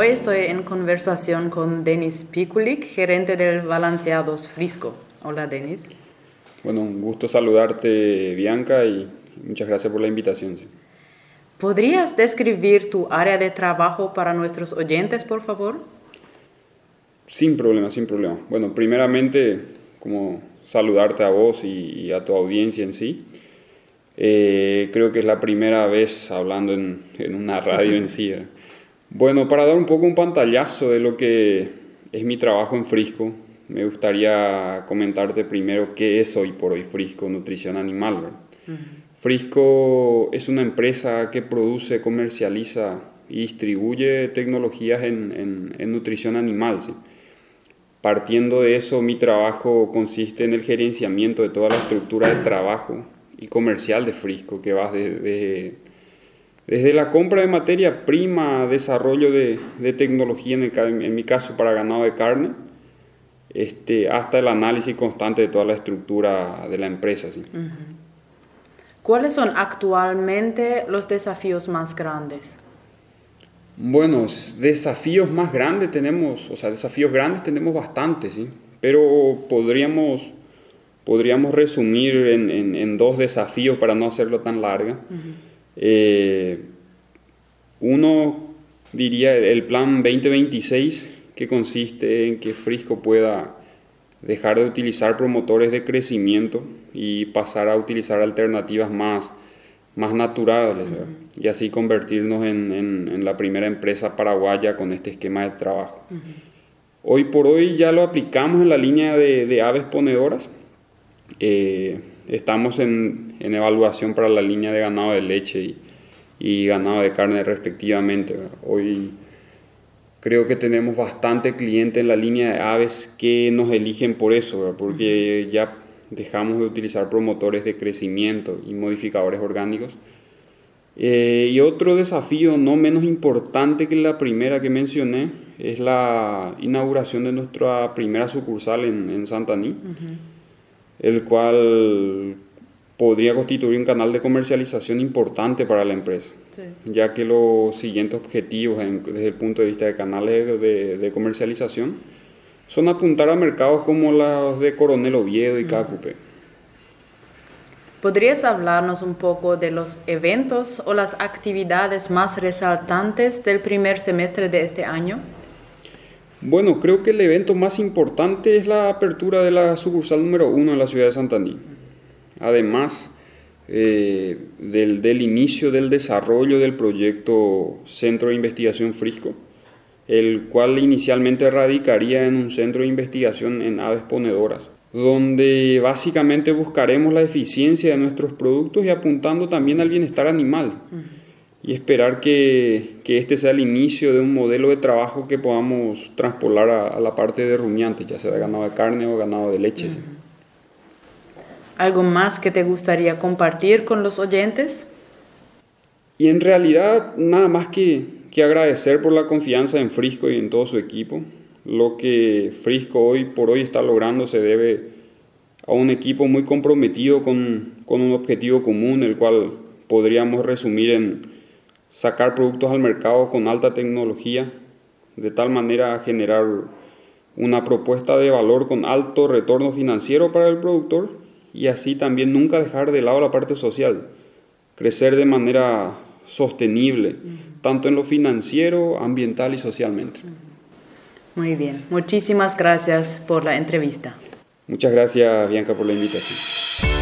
hoy estoy en conversación con Denis Pikulik, gerente del Balanceados Frisco. Hola, Denis. Bueno, un gusto saludarte, Bianca, y muchas gracias por la invitación. Sí. ¿Podrías describir tu área de trabajo para nuestros oyentes, por favor? Sin problema, sin problema. Bueno, primeramente, como saludarte a vos y a tu audiencia en sí. Creo que es la primera vez hablando en una radio en sí. Bueno, para dar un poco un pantallazo de lo que es mi trabajo en Frisco, me gustaría comentarte primero qué es hoy por hoy Frisco Nutrición Animal, ¿verdad? Frisco es una empresa que produce, comercializa y distribuye tecnologías en nutrición animal, ¿sí? Partiendo de eso, mi trabajo consiste en el gerenciamiento de toda la estructura de trabajo y comercial de Frisco, que va desde la compra de materia prima, desarrollo de tecnología, en mi caso para ganado de carne, hasta el análisis constante de toda la estructura de la empresa, ¿sí? ¿Cuáles son actualmente los desafíos más grandes? Bueno, desafíos grandes tenemos bastantes, ¿sí? Pero podríamos resumir en dos desafíos para no hacerlo tan larga. Uno diría el plan 2026, que consiste en que Frisco pueda dejar de utilizar promotores de crecimiento y pasar a utilizar alternativas más naturales, ¿verdad? Y así convertirnos en la primera empresa paraguaya con este esquema de trabajo. Hoy por hoy ya lo aplicamos en la línea de aves ponedoras. Estamos en evaluación para la línea de ganado de leche y ganado de carne respectivamente, ¿verdad? Hoy creo que tenemos bastante clientes en la línea de aves que nos eligen por eso, ¿verdad? Porque ya dejamos de utilizar promotores de crecimiento y modificadores orgánicos. Y otro desafío no menos importante que la primera que mencioné es la inauguración de nuestra primera sucursal en Santaní, el cual podría constituir un canal de comercialización importante para la empresa, ya que los siguientes objetivos desde el punto de vista de canales de comercialización son apuntar a mercados como los de Coronel Oviedo y Cacupe. ¿Podrías hablarnos un poco de los eventos o las actividades más resaltantes del primer semestre de este año? Bueno, creo que el evento más importante es la apertura de la sucursal número 1 en la ciudad de Santaní. Además del inicio del desarrollo del proyecto Centro de Investigación Frisco, el cual inicialmente radicaría en un centro de investigación en aves ponedoras, donde básicamente buscaremos la eficiencia de nuestros productos y apuntando también al bienestar animal. Y esperar que este sea el inicio de un modelo de trabajo que podamos traspolar a la parte de rumiantes, ya sea de ganado de carne o ganado de leche. ¿Sí? ¿Algo más que te gustaría compartir con los oyentes? Y en realidad nada más que agradecer por la confianza en Frisco y en todo su equipo. Lo que Frisco hoy por hoy está logrando se debe a un equipo muy comprometido con un objetivo común, el cual podríamos resumir en sacar productos al mercado con alta tecnología, de tal manera a generar una propuesta de valor con alto retorno financiero para el productor y así también nunca dejar de lado la parte social, crecer de manera sostenible, tanto en lo financiero, ambiental y socialmente. Muy bien, muchísimas gracias por la entrevista. Muchas gracias, Bianca, por la invitación.